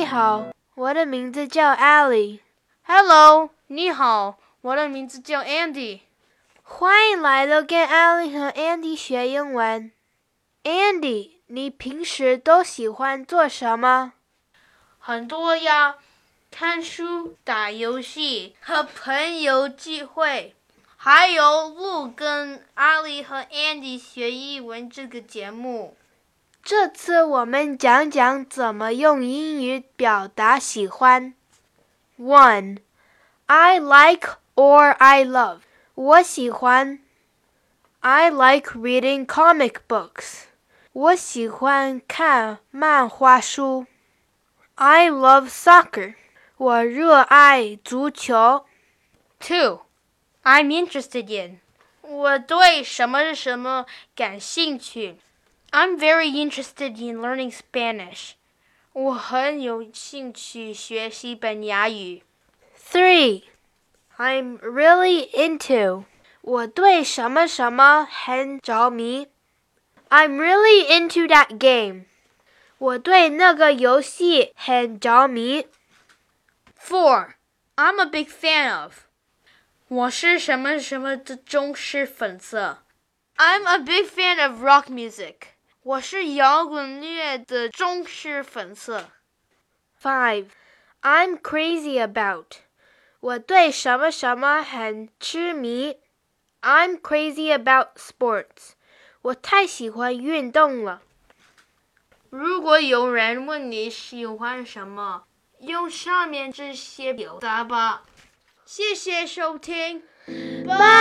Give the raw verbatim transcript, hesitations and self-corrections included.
好，我的名字叫 Allie。Hello， 你好，我的名字叫 Andy。 欢迎来到跟 Allie 和 Andy 学英文。Andy， 你平时都喜欢做什么？ 很多呀，看书、打游戏、和朋友聚会，还有录跟 Allie 和 Andy 学英文这个节目。 这次我们讲讲怎么用英语表达喜欢。One, I like or I love. 我喜欢。I like reading comic books. 我喜欢看漫画书。I love soccer. 我热爱足球。 Two, I'm interested in. 我对什么什么感兴趣。I'm very interested in learning Spanish. 我很有兴趣学西班牙语。 Three, I'm really into. 我对什么什么很着迷。I'm really into that game. 我对那个游戏很着迷。 Four, I'm a big fan of. 我是什么什么的忠实粉丝。I'm a big fan of rock music. 我是摇滚乐的忠实粉丝。 Five, I'm crazy about. 我对什么什么很痴迷。I'm crazy about sports. 我太喜欢运动了。 如果有人问你喜欢什么，用上面这些表达吧。谢谢收听，拜。